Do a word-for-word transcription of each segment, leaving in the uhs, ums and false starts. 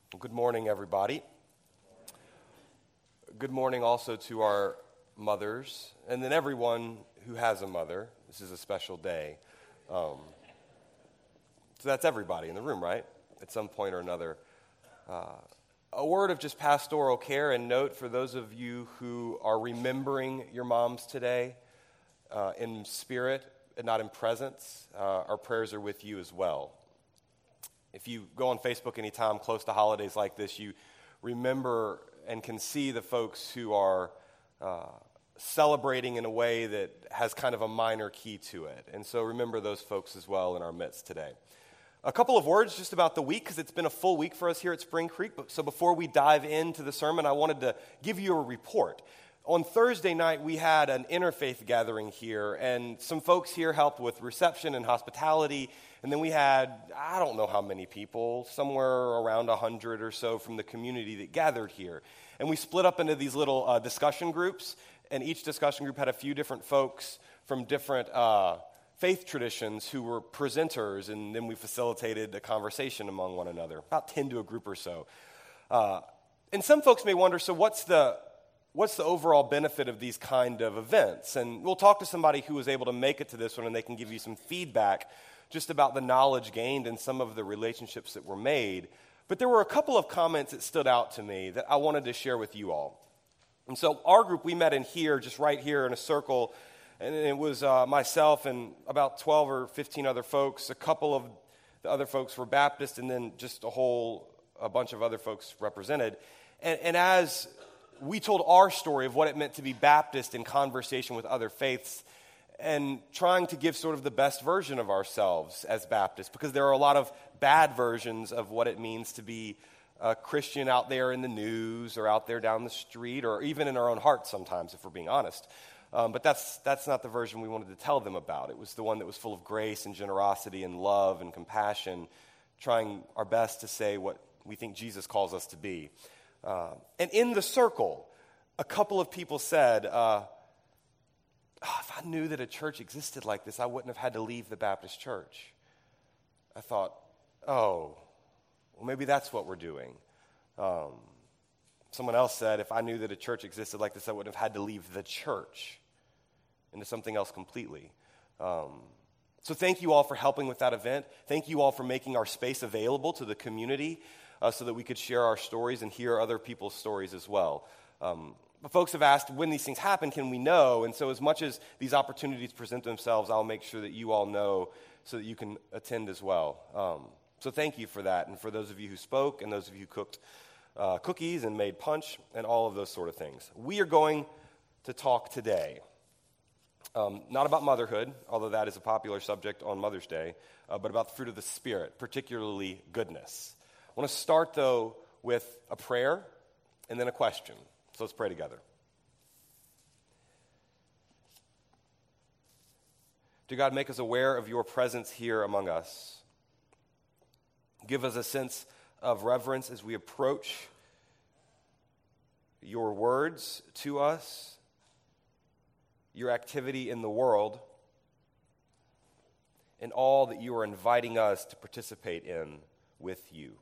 Good morning, everybody. Good morning also to our mothers, and then everyone who has a mother. This is a special day. Um, so that's everybody in the room, right? At some point or another. Uh, a word of just pastoral care and note for those of you who are remembering your moms today uh, in spirit and not in presence. Uh, our prayers are with you as well. If you go on Facebook anytime close to holidays like this, you remember and can see the folks who are uh, celebrating in a way that has kind of a minor key to it. And so remember those folks as well in our midst today. A couple of words just about the week, because it's been a full week for us here at Spring Creek. So before we dive into the sermon, I wanted to give you a report. On Thursday night, we had an interfaith gathering here, and some folks here helped with reception and hospitality. And then we had, I don't know how many people, somewhere around one hundred or so from the community that gathered here. And we split up into these little uh, discussion groups, and each discussion group had a few different folks from different uh, faith traditions who were presenters, and then we facilitated a conversation among one another, about ten to a group or so. Uh, and some folks may wonder, so what's the what's the overall benefit of these kind of events? And we'll talk to somebody who was able to make it to this one, and they can give you some feedback just about the knowledge gained and some of the relationships that were made. But there were a couple of comments that stood out to me that I wanted to share with you all. And so our group, we met in here, just right here in a circle, and it was uh, myself and about twelve or fifteen other folks. A couple of the other folks were Baptist, and then just a whole, a bunch of other folks represented. And, and as we told our story of what it meant to be Baptist in conversation with other faiths, and trying to give sort of the best version of ourselves as Baptists, because there are a lot of bad versions of what it means to be a Christian out there in the news or out there down the street or even in our own hearts sometimes, if we're being honest. Um, but that's that's not the version we wanted to tell them about. It was the one that was full of grace and generosity and love and compassion, trying our best to say what we think Jesus calls us to be. Uh, and in the circle, a couple of people said, uh, oh, if I knew that a church existed like this, I wouldn't have had to leave the Baptist church. I thought, oh, well, maybe that's what we're doing. Um, someone else said, if I knew that a church existed like this, I wouldn't have had to leave the church into something else completely. Um, so thank you all for helping with that event. Thank you all for making our space available to the community uh, so that we could share our stories and hear other people's stories as well. Um, But folks have asked, when these things happen, can we know? And so as much as these opportunities present themselves, I'll make sure that you all know so that you can attend as well. Um, so thank you for that. And for those of you who spoke and those of you who cooked uh, cookies and made punch and all of those sort of things. We are going to talk today, um, not about motherhood, although that is a popular subject on Mother's Day, uh, but about the fruit of the Spirit, particularly goodness. I want to start, though, with a prayer and then a question. So let's pray together. Dear God, make us aware of your presence here among us. Give us a sense of reverence as we approach your words to us, your activity in the world, and all that you are inviting us to participate in with you.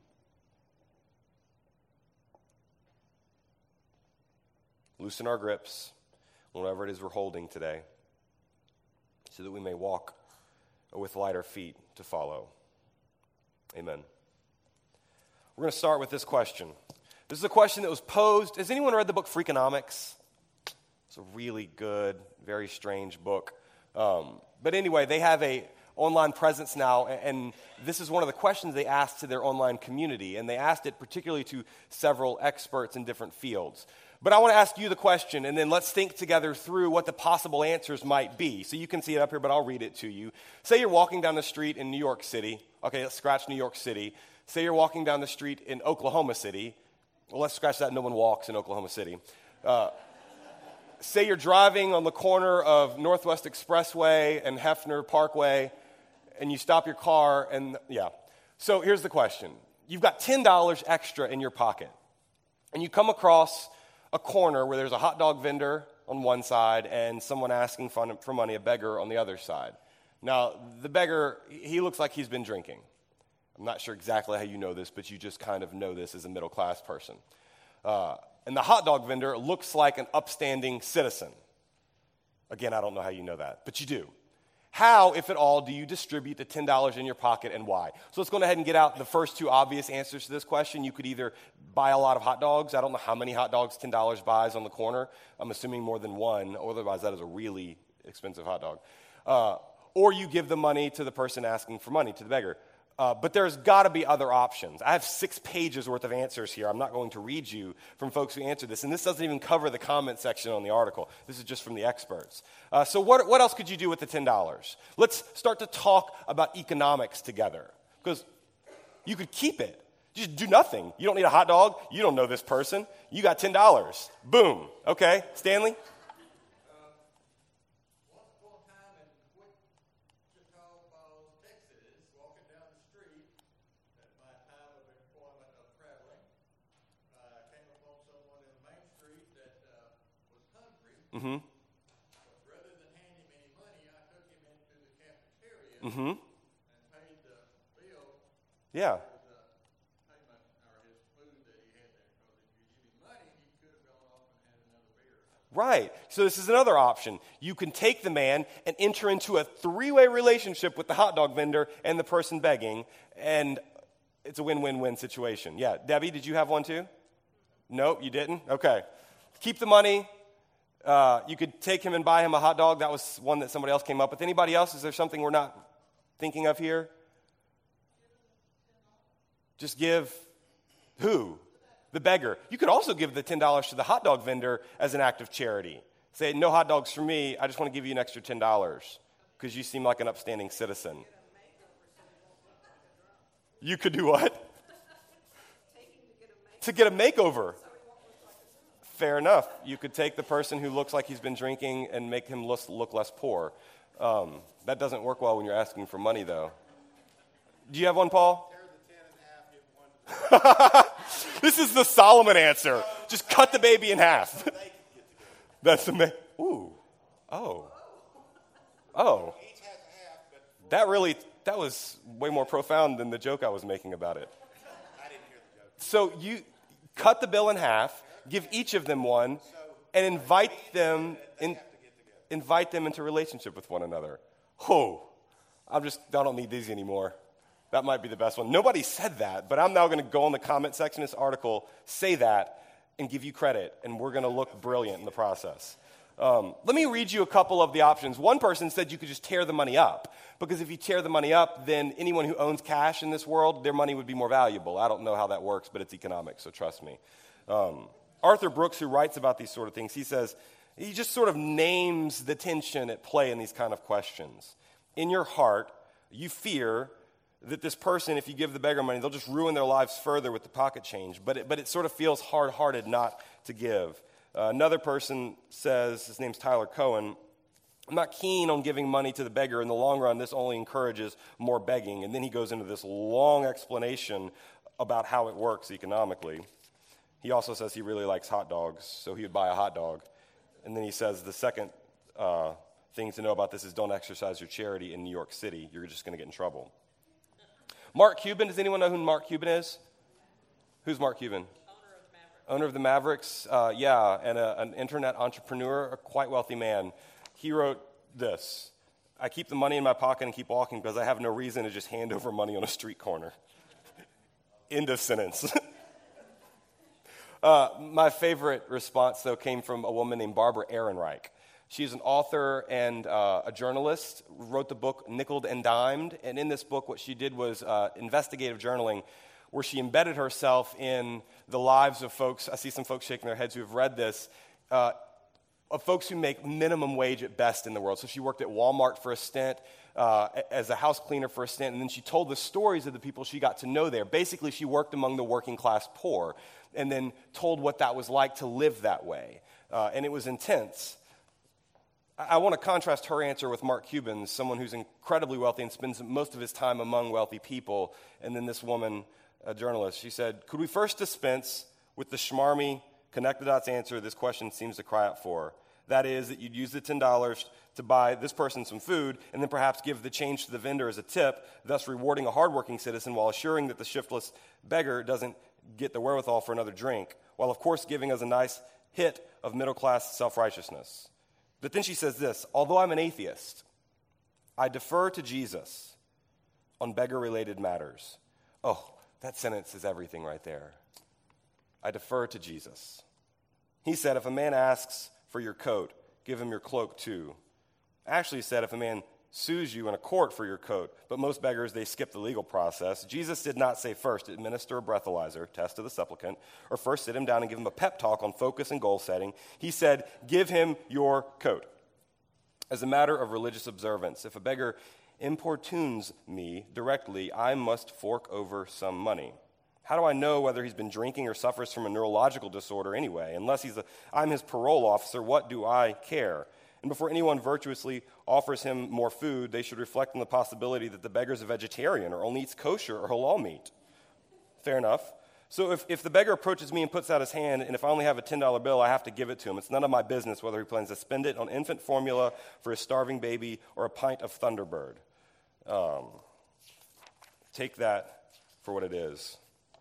Loosen our grips, whatever it is we're holding today, so that we may walk with lighter feet to follow. Amen. We're going to start with this question. This is a question that was posed. Has anyone read the book Freakonomics? It's a really good, very strange book. Um, but anyway, they have a online presence now, and this is one of the questions they asked to their online community, and they asked it particularly to several experts in different fields. But I want to ask you the question, and then let's think together through what the possible answers might be. So you can see it up here, but I'll read it to you. Say you're walking down the street in New York City. Okay, let's scratch New York City. Say you're walking down the street in Oklahoma City. Well, let's scratch that. No one walks in Oklahoma City. Uh, say you're driving on the corner of Northwest Expressway and Hefner Parkway, and you stop your car, and yeah. So here's the question. You've got ten dollars extra in your pocket, and you come across a corner where there's a hot dog vendor on one side and someone asking for money, a beggar on the other side. Now, the beggar, he looks like he's been drinking. I'm not sure exactly how you know this, but you just kind of know this as a middle-class person. Uh, and the hot dog vendor looks like an upstanding citizen. Again, I don't know how you know that, but you do. How, if at all, do you distribute the ten dollars in your pocket and why? So let's go ahead and get out the first two obvious answers to this question. You could either buy a lot of hot dogs. I don't know how many hot dogs ten dollars buys on the corner. I'm assuming more than one, otherwise that is a really expensive hot dog. Uh, or you give the money to the person asking for money, to the beggar. Uh, but there's got to be other options. I have six pages worth of answers here. I'm not going to read you from folks who answered this. And this doesn't even cover the comment section on the article. This is just from the experts. Uh, so what, what else could you do with the ten dollars? Let's start to talk about economics together. Because you could keep it. Just do nothing. You don't need a hot dog. You don't know this person. You got ten dollars. Boom. Okay. Stanley? Mm-hmm. Rather than hand him any money, I took him into the cafeteria mm-hmm. and paid the bill. Yeah. For the payment or his food that he had there. Because if you give him money, he could have gone off and had another beer. Right. So this is another option. You can take the man and enter into a three-way relationship with the hot dog vendor and the person begging, and it's a win-win-win situation. Yeah. Debbie, did you have one too? Nope, you didn't? Okay. Keep the money. Uh, you could take him and buy him a hot dog. That was one that somebody else came up with. Anybody else? Is there something we're not thinking of here? Just give who? The beggar. You could also give the ten dollars to the hot dog vendor as an act of charity. Say, no hot dogs for me. I just want to give you an extra ten dollars because you seem like an upstanding citizen. You could do what? To get a makeover. Fair enough. You could take the person who looks like he's been drinking and make him look, look less poor. Um, that doesn't work well when you're asking for money, though. Do you have one, Paul? Tear the ten in half, give one. This is the Solomon answer. Just cut the baby in half. That's the ma- Ooh. Oh. Oh. Each has a half, but That really, that was way more profound than the joke I was making about it. I didn't hear the joke. So you cut the bill in half, give each of them one, and invite them in, invite them into relationship with one another. Oh, I'm just, I don't need these anymore. That might be the best one. Nobody said that, but I'm now going to go in the comment section of this article, say that, and give you credit, and we're going to look brilliant in the process. Um, let me read you a couple of the options. One person said you could just tear the money up, because if you tear the money up, then anyone who owns cash in this world, their money would be more valuable. I don't know how that works, but it's economics, so trust me. Um, Arthur Brooks, who writes about these sort of things, he says, he just sort of names the tension at play in these kind of questions. In your heart, you fear that this person, if you give the beggar money, they'll just ruin their lives further with the pocket change. But it, but it sort of feels hard-hearted not to give. Uh, another person says, his name's Tyler Cohen, I'm not keen on giving money to the beggar. In the long run, this only encourages more begging. And then he goes into this long explanation about how it works economically. He also says he really likes hot dogs, so he would buy a hot dog. And then he says the second uh, thing to know about this is don't exercise your charity in New York City. You're just going to get in trouble. Mark Cuban, does anyone know who Mark Cuban is? Who's Mark Cuban? Owner of the Mavericks. Owner of the Mavericks, uh, yeah, and a, an internet entrepreneur, a quite wealthy man. He wrote this: I keep the money in my pocket and keep walking because I have no reason to just hand over money on a street corner. End of sentence. Uh, my favorite response, though, came from a woman named Barbara Ehrenreich. She's an author and uh, a journalist, wrote the book Nickeled and Dimed, and in this book what she did was uh, investigative journaling, where she embedded herself in the lives of folks, I see some folks shaking their heads who have read this, uh, of folks who make minimum wage at best in the world. So she worked at Walmart for a stint, uh, as a house cleaner for a stint, and then she told the stories of the people she got to know there. Basically, she worked among the working class poor, and then told what that was like to live that way. Uh, and it was intense. I, I want to contrast her answer with Mark Cuban's, someone who's incredibly wealthy and spends most of his time among wealthy people. And then this woman, a journalist, she said, could we first dispense with the schmarmy, connect the dots answer this question seems to cry out for? That is, that you'd use the ten dollars to buy this person some food and then perhaps give the change to the vendor as a tip, thus rewarding a hardworking citizen while assuring that the shiftless beggar doesn't get the wherewithal for another drink, while of course giving us a nice hit of middle-class self-righteousness. But then she says this, although I'm an atheist, I defer to Jesus on beggar-related matters. Oh, that sentence is everything right there. I defer to Jesus. He said, if a man asks for your coat, give him your cloak too. Actually said, if a man sues you in a court for your coat, but most beggars, they skip the legal process. Jesus did not say first, administer a breathalyzer, test to the supplicant, or first sit him down and give him a pep talk on focus and goal setting. He said, give him your coat. As a matter of religious observance, if a beggar importunes me directly, I must fork over some money. How do I know whether he's been drinking or suffers from a neurological disorder anyway? Unless he's a, I'm his parole officer, what do I care? And before anyone virtuously offers him more food, they should reflect on the possibility that the beggar's a vegetarian or only eats kosher or halal meat. Fair enough. So if, if the beggar approaches me and puts out his hand, and if I only have a ten dollar bill, I have to give it to him. It's none of my business whether he plans to spend it on infant formula for his starving baby or a pint of Thunderbird. Um, take that for what it is.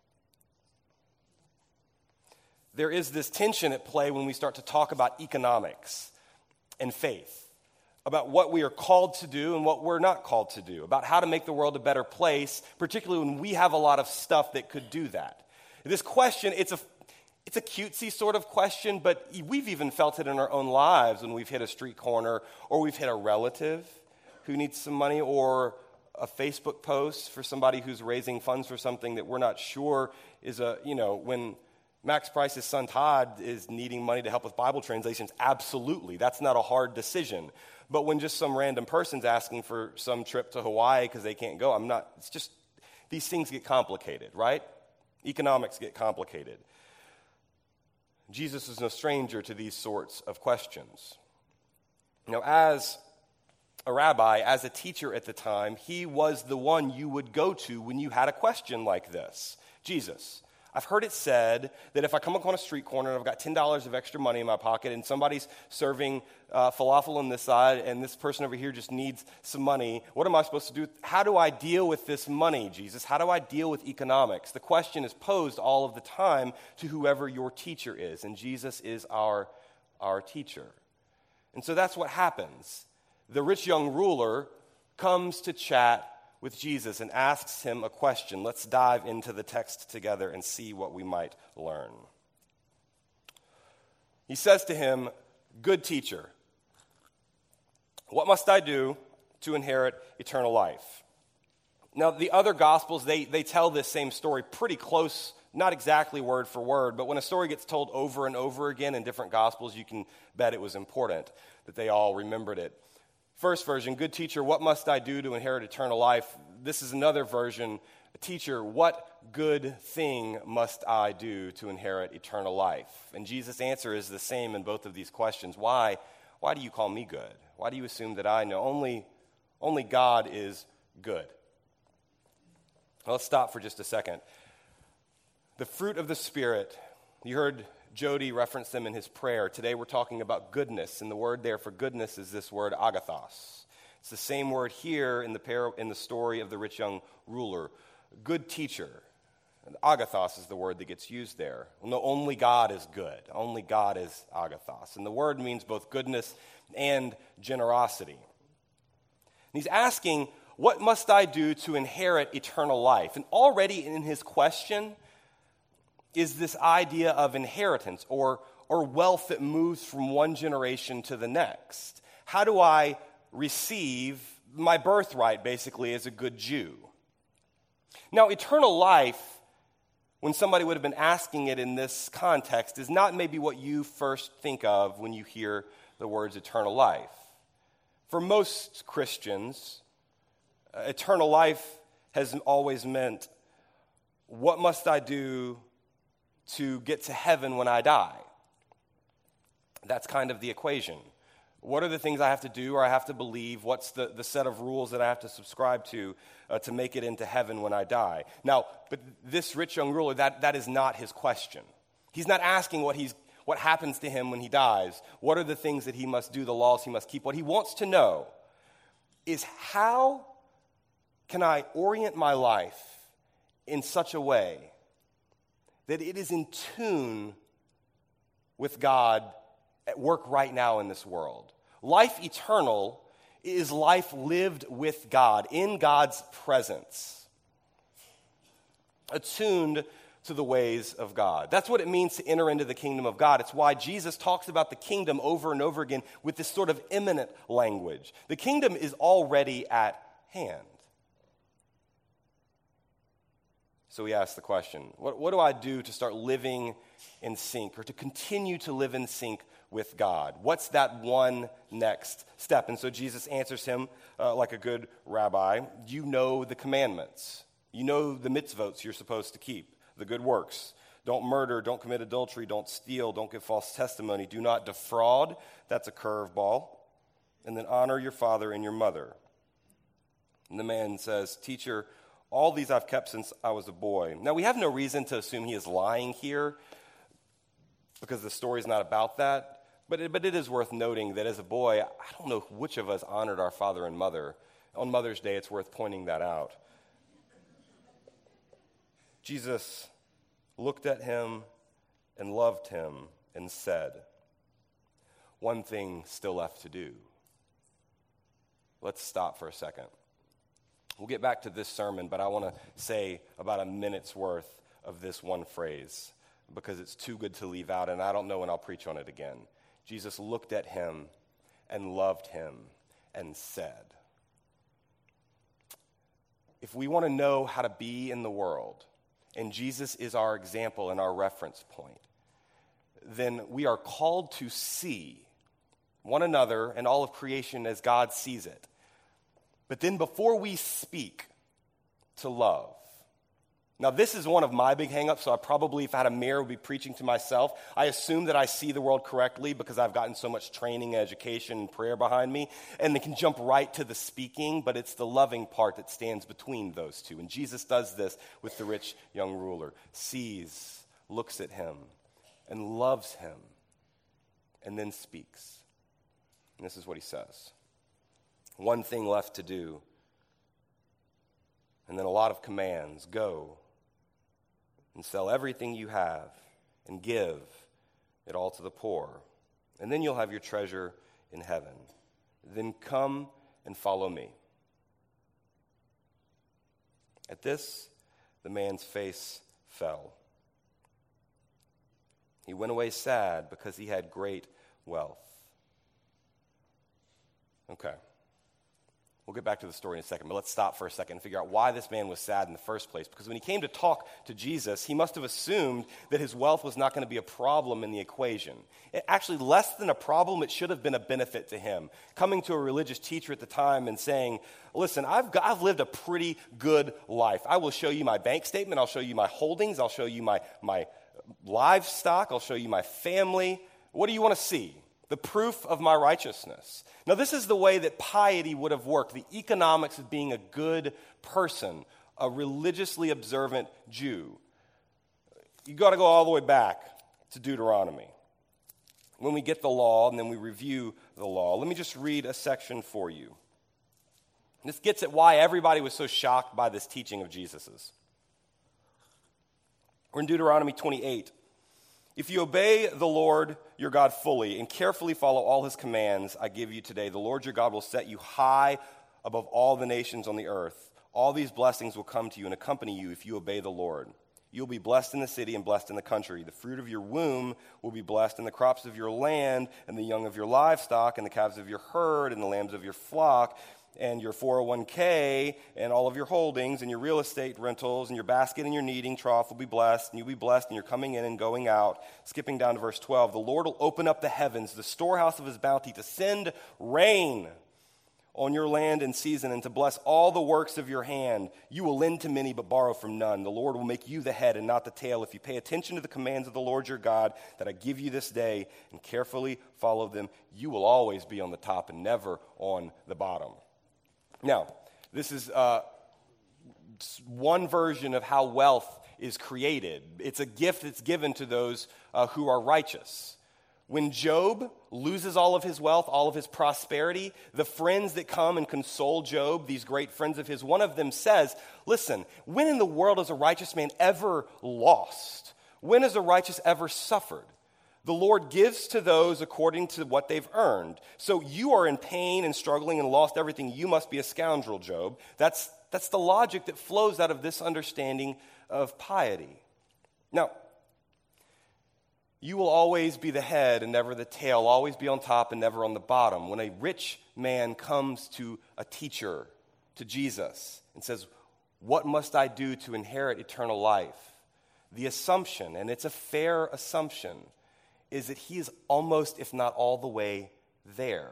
There is this tension at play when we start to talk about economics and faith, about what we are called to do and what we're not called to do, about how to make the world a better place, particularly when we have a lot of stuff that could do that. This question, it's a it's a cutesy sort of question, but we've even felt it in our own lives when we've hit a street corner or we've hit a relative who needs some money or a Facebook post for somebody who's raising funds for something that we're not sure is a, you know, when Max Price's son Todd is needing money to help with Bible translations, absolutely. That's not a hard decision. But when just some random person's asking for some trip to Hawaii because they can't go, I'm not, it's just, these things get complicated, right? Economics get complicated. Jesus is no stranger to these sorts of questions. You know, as a rabbi, as a teacher at the time, he was the one you would go to when you had a question like this. Jesus, I've heard it said that if I come up on a street corner and I've got ten dollars of extra money in my pocket and somebody's serving uh, falafel on this side and this person over here just needs some money, what am I supposed to do? How do I deal with this money, Jesus? How do I deal with economics? The question is posed all of the time to whoever your teacher is, and Jesus is our, our teacher. And so that's what happens. The rich young ruler comes to chat with Jesus and asks him a question. Let's dive into the text together and see what we might learn. He says to him, "Good teacher, what must I do to inherit eternal life?" Now, the other Gospels, they, they tell this same story pretty close, not exactly word for word, but when a story gets told over and over again in different Gospels, you can bet it was important that they all remembered it. First version, "Good teacher, what must I do to inherit eternal life?" This is another version, "Teacher, what good thing must I do to inherit eternal life?" And Jesus' answer is the same in both of these questions. Why? Why do you call me good? Why do you assume that I know? Only, only God is good. Well, let's stop for just a second. The fruit of the Spirit, you heard Jody referenced them in his prayer. Today we're talking about goodness, and the word there for goodness is this word agathos. It's the same word here in the par- in the story of the rich young ruler. Good teacher. And agathos is the word that gets used there. No, only God is good. Only God is agathos. And the word means both goodness and generosity. And he's asking, what must I do to inherit eternal life? And already in his question is this idea of inheritance or, or wealth that moves from one generation to the next. How do I receive my birthright, basically, as a good Jew? Now, eternal life, when somebody would have been asking it in this context, is not maybe what you first think of when you hear the words eternal life. For most Christians, uh, eternal life has always meant, what must I do to get to heaven when I die? That's kind of the equation. What are the things I have to do or I have to believe? What's the, the set of rules that I have to subscribe to uh, to make it into heaven when I die? Now, but this rich young ruler, that, that is not his question. He's not asking what he's what happens to him when he dies, what are the things that he must do, the laws he must keep. What he wants to know is, how can I orient my life in such a way that it is in tune with God at work right now in this world? Life eternal is life lived with God, in God's presence, attuned to the ways of God. That's what it means to enter into the kingdom of God. It's why Jesus talks about the kingdom over and over again with this sort of imminent language. The kingdom is already at hand. So we ask the question, what, what do I do to start living in sync, or to continue to live in sync with God? What's that one next step? And so Jesus answers him uh, like a good rabbi. You know the commandments. You know the mitzvot you're supposed to keep, the good works. Don't murder, don't commit adultery, don't steal, don't give false testimony, do not defraud. That's a curveball. And then honor your father and your mother. And the man says, Teacher, all these I've kept since I was a boy. Now, we have no reason to assume he is lying here, because the story is not about that. But it, but it is worth noting that as a boy, I don't know which of us honored our father and mother. On Mother's Day, it's worth pointing that out. Jesus looked at him and loved him and said, one thing still left to do. Let's stop for a second. We'll get back to this sermon, but I want to say about a minute's worth of this one phrase, because it's too good to leave out, and I don't know when I'll preach on it again. Jesus looked at him and loved him and said. If we want to know how to be in the world, and Jesus is our example and our reference point, then we are called to see one another and all of creation as God sees it. But then before we speak, to love. Now, this is one of my big hang-ups, so I probably, if I had a mirror, would be preaching to myself. I assume that I see the world correctly because I've gotten so much training, education, and prayer behind me, and they can jump right to the speaking, but it's the loving part that stands between those two. And Jesus does this with the rich young ruler. Sees, looks at him, and loves him, and then speaks. And this is what he says. One thing left to do, and then a lot of commands. Go and sell everything you have and give it all to the poor, and then you'll have your treasure in heaven. Then come and follow me. At this, the man's face fell. He went away sad because he had great wealth. Okay. We'll get back to the story in a second, but let's stop for a second and figure out why this man was sad in the first place. Because when he came to talk to Jesus, he must have assumed that his wealth was not going to be a problem in the equation. It, actually, less than a problem, it should have been a benefit to him. Coming to a religious teacher at the time and saying, listen, I've, got, I've lived a pretty good life. I will show you my bank statement. I'll show you my holdings. I'll show you my, my livestock. I'll show you my family. What do you want to see? The proof of my righteousness. Now, this is the way that piety would have worked, the economics of being a good person, a religiously observant Jew. You got to go all the way back to Deuteronomy. When we get the law and then we review the law, let me just read a section for you. This gets at why everybody was so shocked by this teaching of Jesus's. We're in Deuteronomy twenty-eight. If you obey the Lord your God fully and carefully follow all his commands I give you today, the Lord your God will set you high above all the nations on the earth. All these blessings will come to you and accompany you if you obey the Lord. You'll be blessed in the city and blessed in the country. The fruit of your womb will be blessed, and the crops of your land, and the young of your livestock, and the calves of your herd, and the lambs of your flock, and your four oh one k, and all of your holdings, and your real estate rentals, and your basket and your kneading trough will be blessed, and you'll be blessed, and you're coming in and going out. Skipping down to verse twelve, the Lord will open up the heavens, the storehouse of his bounty, to send rain on your land in season, and to bless all the works of your hand. You will lend to many, but borrow from none. The Lord will make you the head and not the tail if you pay attention to the commands of the Lord your God that I give you this day and carefully follow them. You will always be on the top and never on the bottom. Now, this is uh, one version of how wealth is created. It's a gift that's given to those uh, who are righteous. When Job loses all of his wealth, all of his prosperity, the friends that come and console Job, these great friends of his, one of them says, listen, when in the world has a righteous man ever lost? When has a righteous ever suffered? The Lord gives to those according to what they've earned. So you are in pain and struggling and lost everything. You must be a scoundrel, Job. That's, that's the logic that flows out of this understanding of piety. Now, you will always be the head and never the tail, always be on top and never on the bottom. When a rich man comes to a teacher, to Jesus, and says, what must I do to inherit eternal life? The assumption, and it's a fair assumption, is that he is almost, if not all the way there.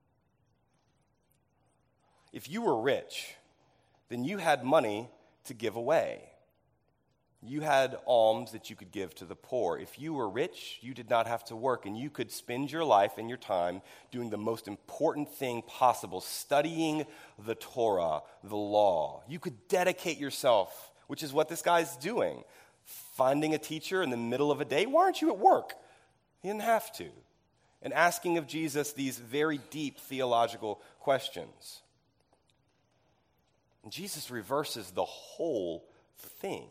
If you were rich, then you had money to give away. You had alms that you could give to the poor. If you were rich, you did not have to work, and you could spend your life and your time doing the most important thing possible, studying the Torah, the law. You could dedicate yourself, which is what this guy's doing. Finding a teacher in the middle of a day. Why aren't you at work? He didn't have to. And asking of Jesus these very deep theological questions. And Jesus reverses the whole thing.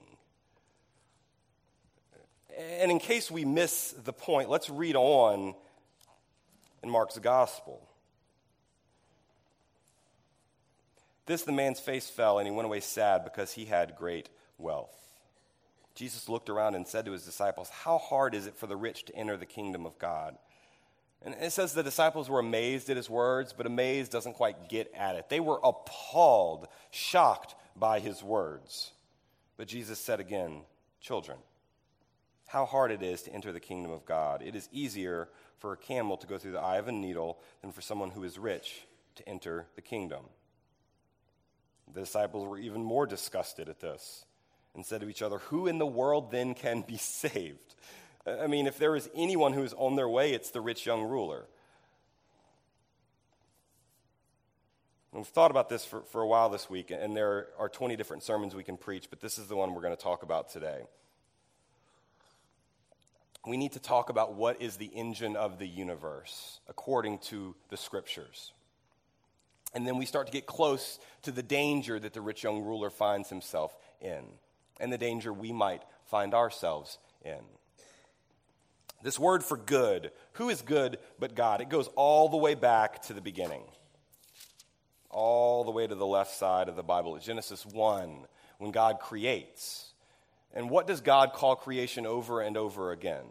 And in case we miss the point, let's read on in Mark's gospel. This, the man's face fell, and he went away sad because he had great wealth. Jesus looked around and said to his disciples, how hard is it for the rich to enter the kingdom of God? And it says the disciples were amazed at his words, but amazed doesn't quite get at it. They were appalled, shocked by his words. But Jesus said again, children, how hard it is to enter the kingdom of God. It is easier for a camel to go through the eye of a needle than for someone who is rich to enter the kingdom. The disciples were even more disgusted at this and said to each other, who in the world then can be saved? I mean, if there is anyone who is on their way, it's the rich young ruler. And we've thought about this for, for a while this week, and there are twenty different sermons we can preach, but this is the one we're going to talk about today. We need to talk about what is the engine of the universe according to the scriptures. And then we start to get close to the danger that the rich young ruler finds himself in, and the danger we might find ourselves in. This word for good, who is good but God? It goes all the way back to the beginning, all the way to the left side of the Bible, Genesis one, when God creates. And what does God call creation over and over again?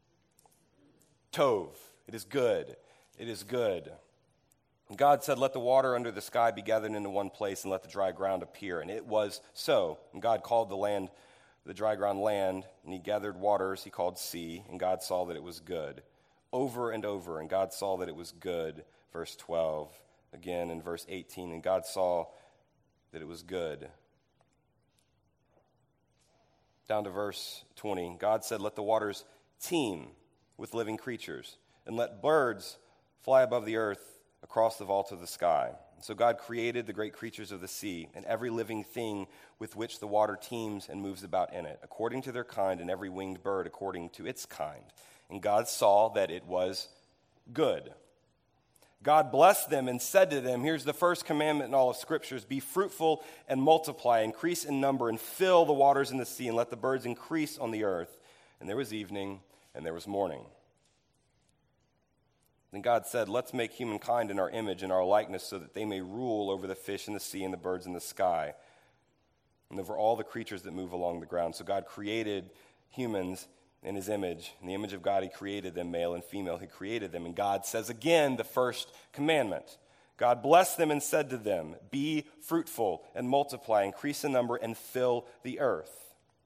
Tov. It is good. It is good. And God said, let the water under the sky be gathered into one place and let the dry ground appear. And it was so. And God called the land, the dry ground land, and he gathered waters he called sea, and God saw that it was good. Over and over, and God saw that it was good. Verse twelve, again in verse eighteen, and God saw that it was good. Down to verse twenty, God said, let the waters teem with living creatures, and let birds fly above the earth across the vault of the sky. So God created the great creatures of the sea, and every living thing with which the water teems and moves about in it, according to their kind, and every winged bird according to its kind. And God saw that it was good. God blessed them and said to them, here's the first commandment in all of Scriptures, be fruitful and multiply, increase in number, and fill the waters in the sea, and let the birds increase on the earth. And there was evening, and there was morning. Then God said, let's make humankind in our image and our likeness so that they may rule over the fish in the sea and the birds in the sky and over all the creatures that move along the ground. So God created humans in his image. In the image of God, he created them, male and female. He created them. And God says again, the first commandment. God blessed them and said to them, be fruitful and multiply, increase in number, and fill the earth.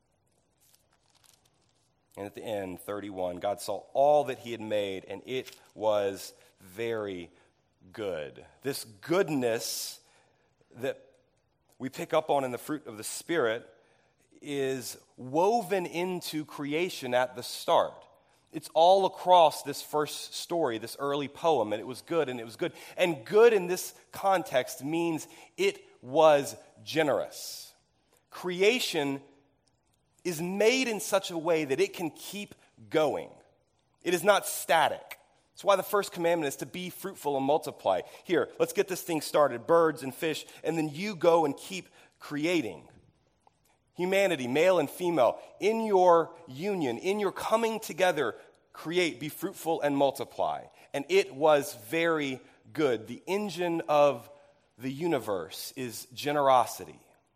And at the end, thirty-one, God saw all that he had made, and it was very good. This goodness that we pick up on in the fruit of the Spirit is woven into creation at the start. It's all across this first story, this early poem, and it was good, and it was good. And good in this context means it was generous. Creation is made in such a way that it can keep going. It is not static. That's why the first commandment is to be fruitful and multiply. Here, let's get this thing started, birds and fish, and then you go and keep creating. Humanity, male and female, in your union, in your coming together, create, be fruitful, and multiply. And it was very good. The engine of the universe is generosity.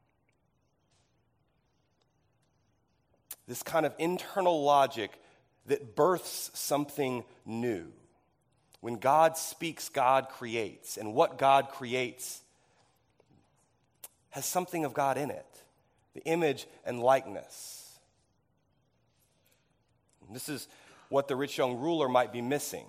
This kind of internal logic that births something new. When God speaks, God creates. And what God creates has something of God in it. The image and likeness. And this is what the rich young ruler might be missing.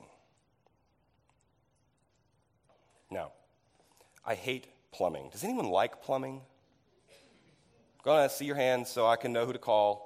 Now, I hate plumbing. Does anyone like plumbing? Go ahead, see your hands so I can know who to call.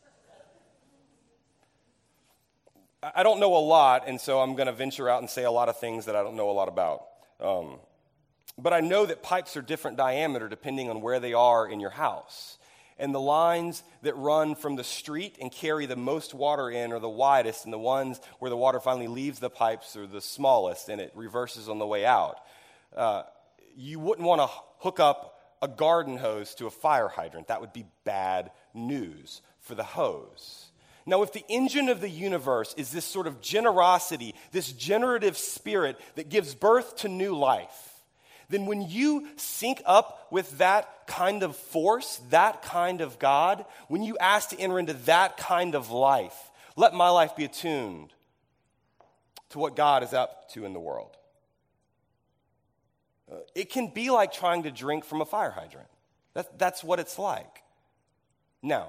I don't know a lot, and so I'm going to venture out and say a lot of things that I don't know a lot about. Um, but I know that pipes are different diameter depending on where they are in your house. And the lines that run from the street and carry the most water in are the widest, and the ones where the water finally leaves the pipes are the smallest, and it reverses on the way out. Uh, you wouldn't want to hook up a garden hose to a fire hydrant. That would be bad news for the hose. Now, if the engine of the universe is this sort of generosity, this generative spirit that gives birth to new life, then when you sync up with that kind of force, that kind of God, when you ask to enter into that kind of life, let my life be attuned to what God is up to in the world. Uh, it can be like trying to drink from a fire hydrant. That, that's what it's like. Now,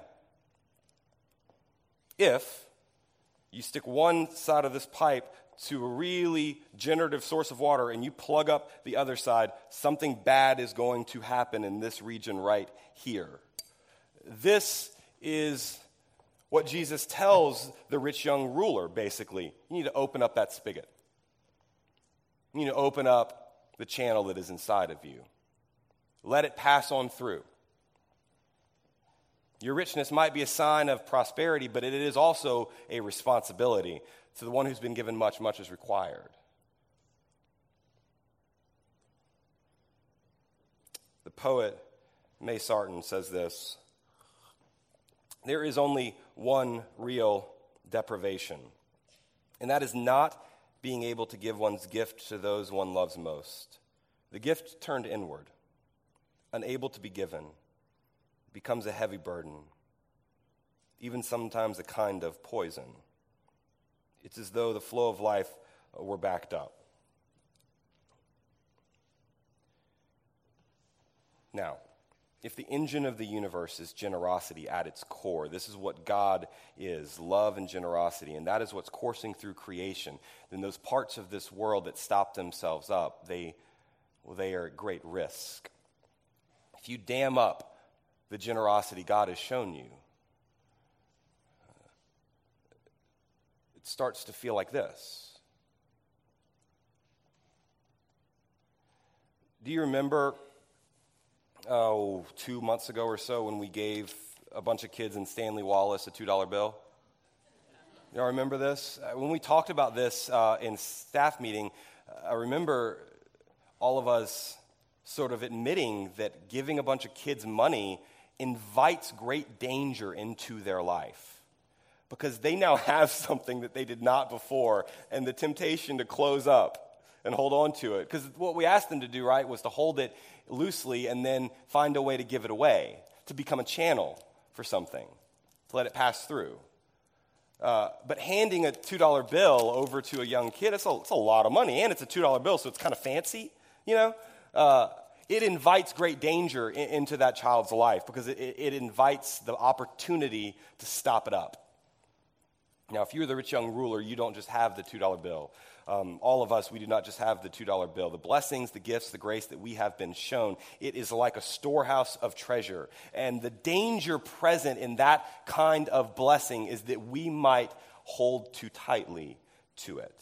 if you stick one side of this pipe to a really generative source of water and you plug up the other side, something bad is going to happen in this region right here. This is what Jesus tells the rich young ruler, basically. You need to open up that spigot. You need to open up the channel that is inside of you. Let it pass on through. Your richness might be a sign of prosperity, but it is also a responsibility. To the one who's been given much, much is required. The poet May Sarton says this: there is only one real deprivation, and that is not being able to give one's gift to those one loves most. The gift turned inward, unable to be given, becomes a heavy burden, even sometimes a kind of poison. It's as though the flow of life were backed up. Now, if the engine of the universe is generosity at its core, this is what God is, love and generosity, and that is what's coursing through creation, then those parts of this world that stop themselves up, they, well, they are at great risk. If you dam up the generosity God has shown you, it starts to feel like this. Do you remember, oh, two months ago or so when we gave a bunch of kids in Stanley Wallace a two dollar bill? Y'all remember this? When we talked about this uh, in staff meeting, I remember all of us sort of admitting that giving a bunch of kids money invites great danger into their life. Because they now have something that they did not before, and the temptation to close up and hold on to it. Because what we asked them to do, right, was to hold it loosely and then find a way to give it away, to become a channel for something, to let it pass through. Uh, but handing a two dollar bill over to a young kid, it's a, it's a lot of money, and it's a two dollar bill, so it's kind of fancy, you know? Uh, it invites great danger in, into that child's life because it, it invites the opportunity to stop it up. Now, if you're the rich young ruler, you don't just have the two dollar bill. Um, all of us, we do not just have the two dollar bill. The blessings, the gifts, the grace that we have been shown, it is like a storehouse of treasure. And the danger present in that kind of blessing is that we might hold too tightly to it.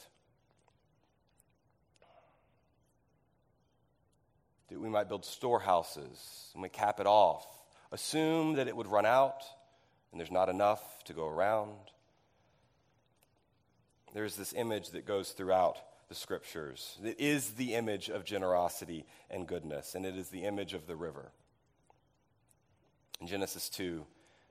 That we might build storehouses and we cap it off. Assume that it would run out and there's not enough to go around. there's this image that goes throughout the scriptures. It is the image of generosity and goodness, and it is the image of the river. In Genesis two,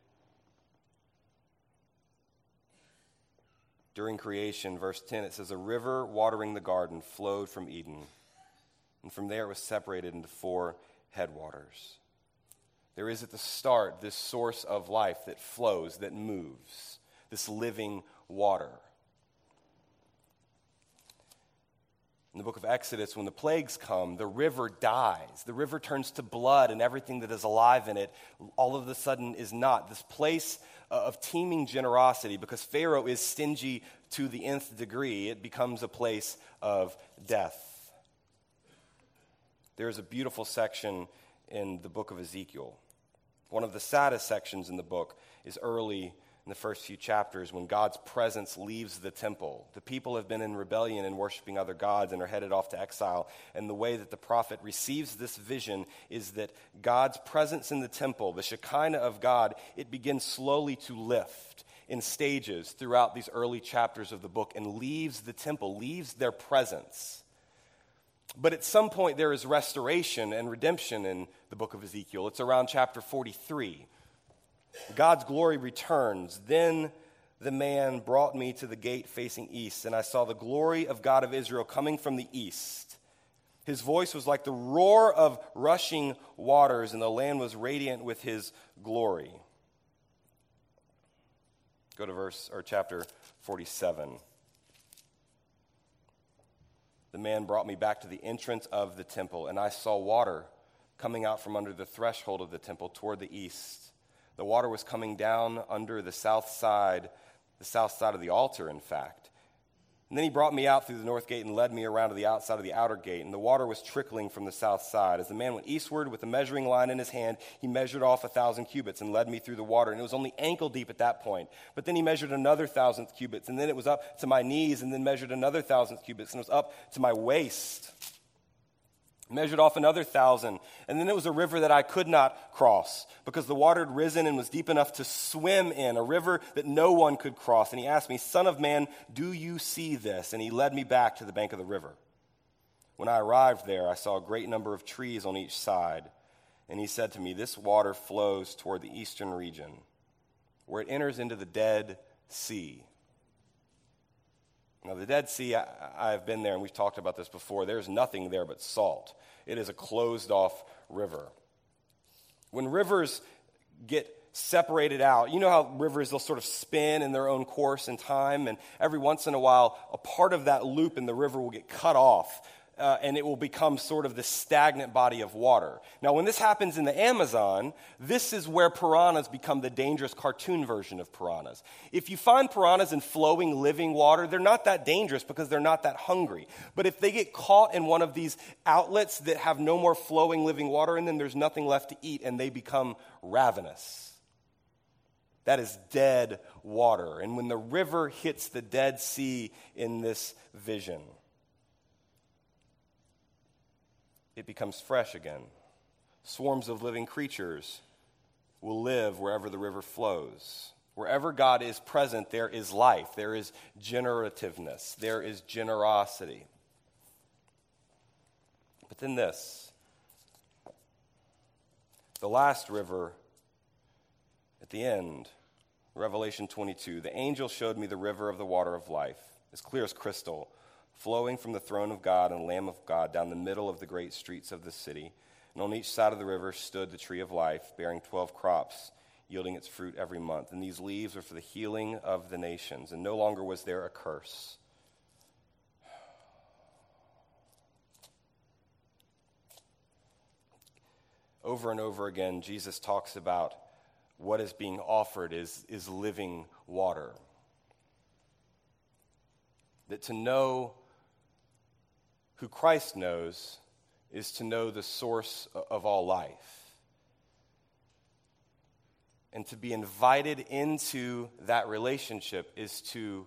during creation, verse ten, it says, a river watering the garden flowed from Eden, and from there it was separated into four headwaters. There is at the start this source of life that flows, that moves, this living water. In the book of Exodus, when the plagues come, the river dies. The river turns to blood, and everything that is alive in it all of a sudden is not. This place of teeming generosity, because Pharaoh is stingy to the nth degree, it becomes a place of death. There is a beautiful section in the book of Ezekiel. One of the saddest sections in the book is early in the first few chapters when God's presence leaves the temple. The people have been in rebellion and worshiping other gods and are headed off to exile. And the way that the prophet receives this vision is that God's presence in the temple, the Shekinah of God, it begins slowly to lift in stages throughout these early chapters of the book and leaves the temple, leaves their presence. But at some point there is restoration and redemption in the book of Ezekiel. It's around chapter forty-three. God's glory returns. Then the man brought me to the gate facing east, and I saw the glory of God of Israel coming from the east. His voice was like the roar of rushing waters, and the land was radiant with his glory. Go to verse or chapter forty-seven. The man brought me back to the entrance of the temple, and I saw water coming out from under the threshold of the temple toward the east. The water was coming down under the south side, the south side of the altar, in fact. And then he brought me out through the north gate and led me around to the outside of the outer gate, and the water was trickling from the south side. As the man went eastward with a measuring line in his hand, he measured off a thousand cubits and led me through the water, and it was only ankle deep at that point. But then he measured another thousand cubits, and then it was up to my knees, and then measured another thousand cubits, and it was up to my waist. Measured off another thousand, and then it was a river that I could not cross because the water had risen and was deep enough to swim in, a river that no one could cross. And he asked me, Son of man, do you see this? And he led me back to the bank of the river. When I arrived there, I saw a great number of trees on each side. And he said to me, this water flows toward the eastern region, where it enters into the Dead Sea. Now, the Dead Sea, I, I've been there, and we've talked about this before. There's nothing there but salt. It is a closed-off river. When rivers get separated out, you know how rivers, they'll sort of spin in their own course and time, and every once in a while, a part of that loop in the river will get cut off, uh, and it will become sort of this stagnant body of water. Now, when this happens in the Amazon, this is where piranhas become the dangerous cartoon version of piranhas. If you find piranhas in flowing, living water, they're not that dangerous because they're not that hungry. But if they get caught in one of these outlets that have no more flowing, living water in them, there's nothing left to eat, and they become ravenous. That is dead water. And when the river hits the Dead Sea in this vision, it becomes fresh again. Swarms of living creatures will live wherever the river flows. Wherever God is present, there is life, there is generativeness, there is generosity. But then this, the last river at the end, Revelation twenty-two, the angel showed me the river of the water of life, as clear as crystal, flowing from the throne of God and Lamb of God down the middle of the great streets of the city. And on each side of the river stood the tree of life, bearing twelve crops, yielding its fruit every month. And these leaves were for the healing of the nations. And no longer was there a curse. Over and over again, Jesus talks about what is being offered is, is living water. That to know who Christ knows is to know the source of all life. And to be invited into that relationship is to,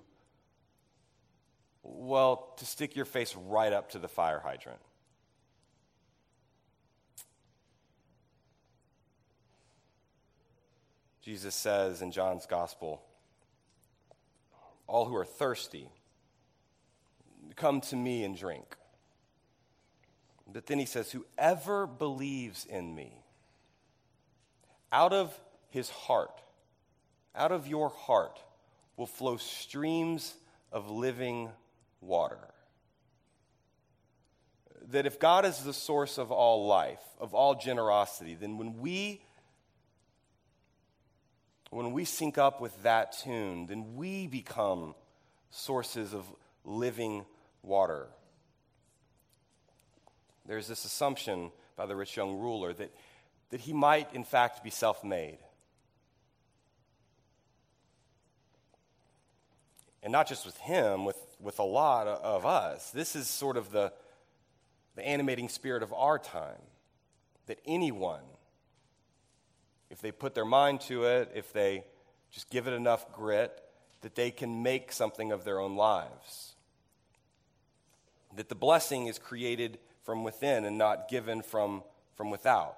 well, to stick your face right up to the fire hydrant. Jesus says in John's gospel, all who are thirsty come to me and drink. But then he says, whoever believes in me, out of his heart, out of your heart, will flow streams of living water. That if God is the source of all life, of all generosity, then when we when we sync up with that tune, then we become sources of living water. There's this assumption by the rich young ruler that, that he might, in fact, be self-made. And not just with him, with, with a lot of us. This is sort of the, the animating spirit of our time. That anyone, if they put their mind to it, if they just give it enough grit, that they can make something of their own lives. That the blessing is created from within and not given from, from without.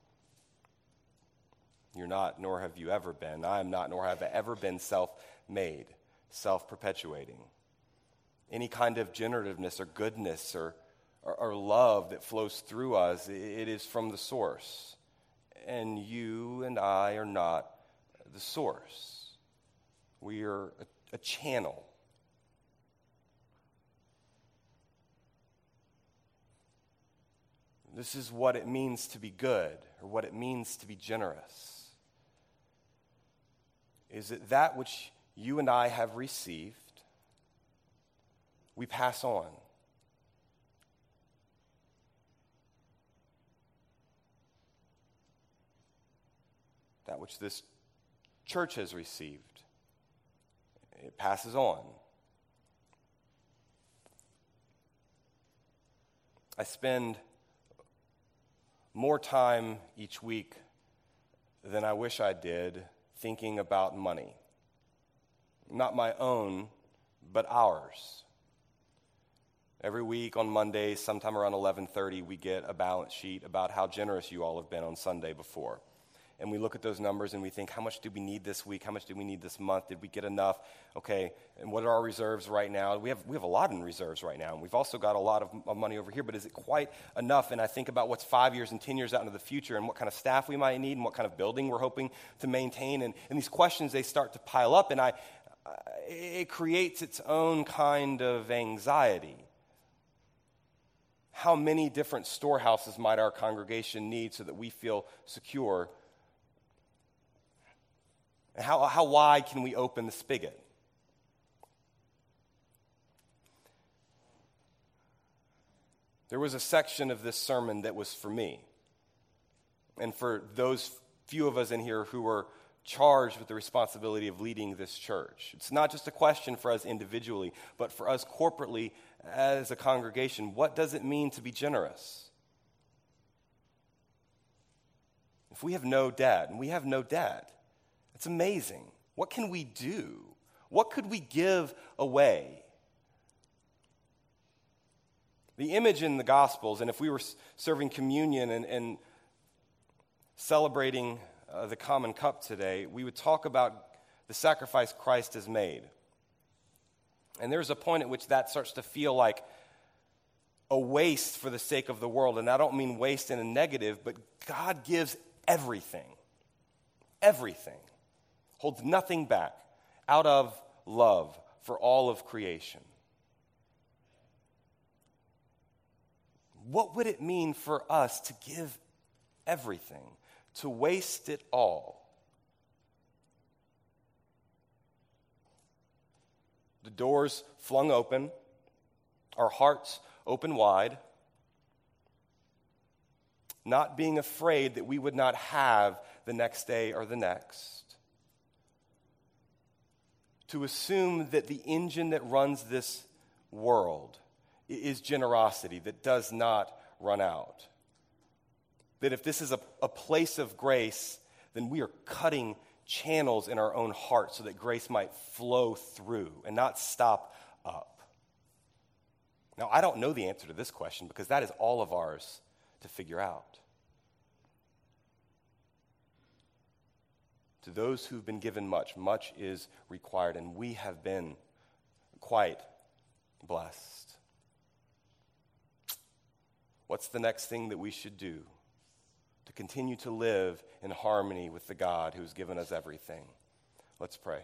You're not, nor have you ever been. I am not, nor have I ever been self-made, self-perpetuating. Any kind of generativeness or goodness or, or, or love that flows through us, it is from the source. And you and I are not the source. We are a, a channel. This is what it means to be good, or what it means to be generous. Is that that which you and I have received, we pass on. That which this church has received, it passes on. I spend more time each week than I wish I did thinking about money. Not my own, but ours. Every week on Mondays, sometime around eleven thirty, we get a balance sheet about how generous you all have been on Sunday before. And we look at those numbers and we think, how much do we need this week? How much do we need this month? Did we get enough? Okay, and what are our reserves right now? We have we have a lot in reserves right now. And we've also got a lot of, of money over here, but is it quite enough? And I think about what's five years and ten years out into the future and what kind of staff we might need and what kind of building we're hoping to maintain. And, and these questions, they start to pile up, and I, I it creates its own kind of anxiety. How many different storehouses might our congregation need so that we feel secure? And how, how wide can we open the spigot? There was a section of this sermon that was for me. And for those few of us in here who were charged with the responsibility of leading this church. It's not just a question for us individually, but for us corporately as a congregation. What does it mean to be generous? If we have no debt, and we have no debt, it's amazing. What can we do? What could we give away? The image in the Gospels, and if we were serving communion and, and celebrating uh, the common cup today, we would talk about the sacrifice Christ has made. And there's a point at which that starts to feel like a waste for the sake of the world. And I don't mean waste in a negative, but God gives everything. Everything. Holds nothing back out of love for all of creation. What would it mean for us to give everything, to waste it all? The doors flung open, our hearts open wide, not being afraid that we would not have the next day or the next. To assume that the engine that runs this world is generosity that does not run out. That if this is a, a place of grace, then we are cutting channels in our own heart so that grace might flow through and not stop up. Now, I don't know the answer to this question because that is all of ours to figure out. To those who've been given much, much is required, and we have been quite blessed. What's the next thing that we should do to continue to live in harmony with the God who's given us everything? Let's pray.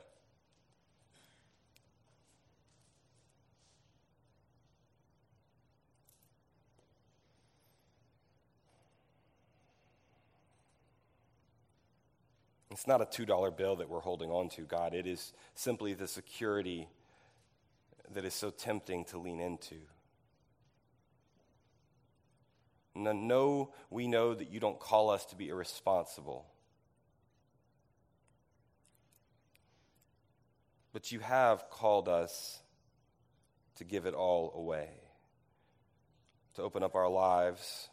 It's not a two dollar bill that we're holding on to, God. It is simply the security that is so tempting to lean into. No, we know that you don't call us to be irresponsible. But you have called us to give it all away, to open up our lives,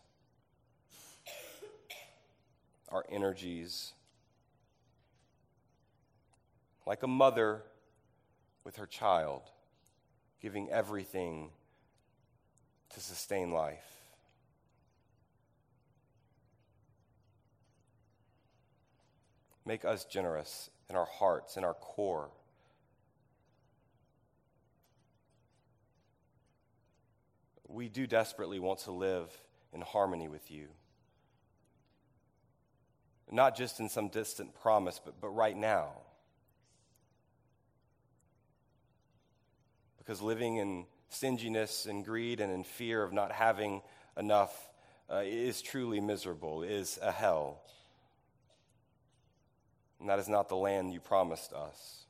our energies, like a mother with her child, giving everything to sustain life. Make us generous in our hearts, in our core. We do desperately want to live in harmony with you. Not just in some distant promise, but, but right now. Because living in stinginess and greed and in fear of not having enough uh, is truly miserable, is a hell. And that is not the land you promised us.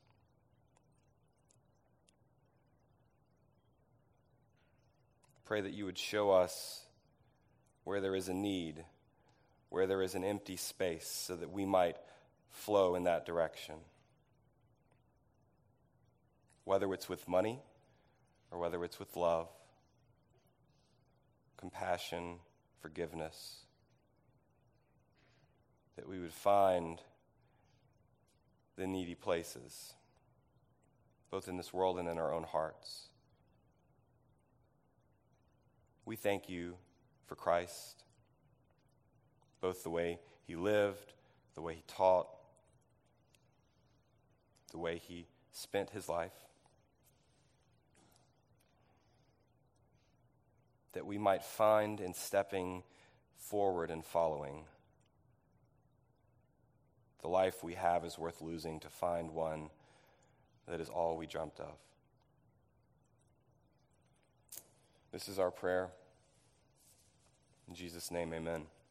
Pray that you would show us where there is a need, where there is an empty space, so that we might flow in that direction. Whether it's with money, or whether it's with love, compassion, forgiveness, that we would find the needy places, both in this world and in our own hearts. We thank you for Christ, both the way he lived, the way he taught, the way he spent his life, that we might find in stepping forward and following the life we have is worth losing to find one that is all we dreamt of. This is our prayer. In Jesus' name, amen.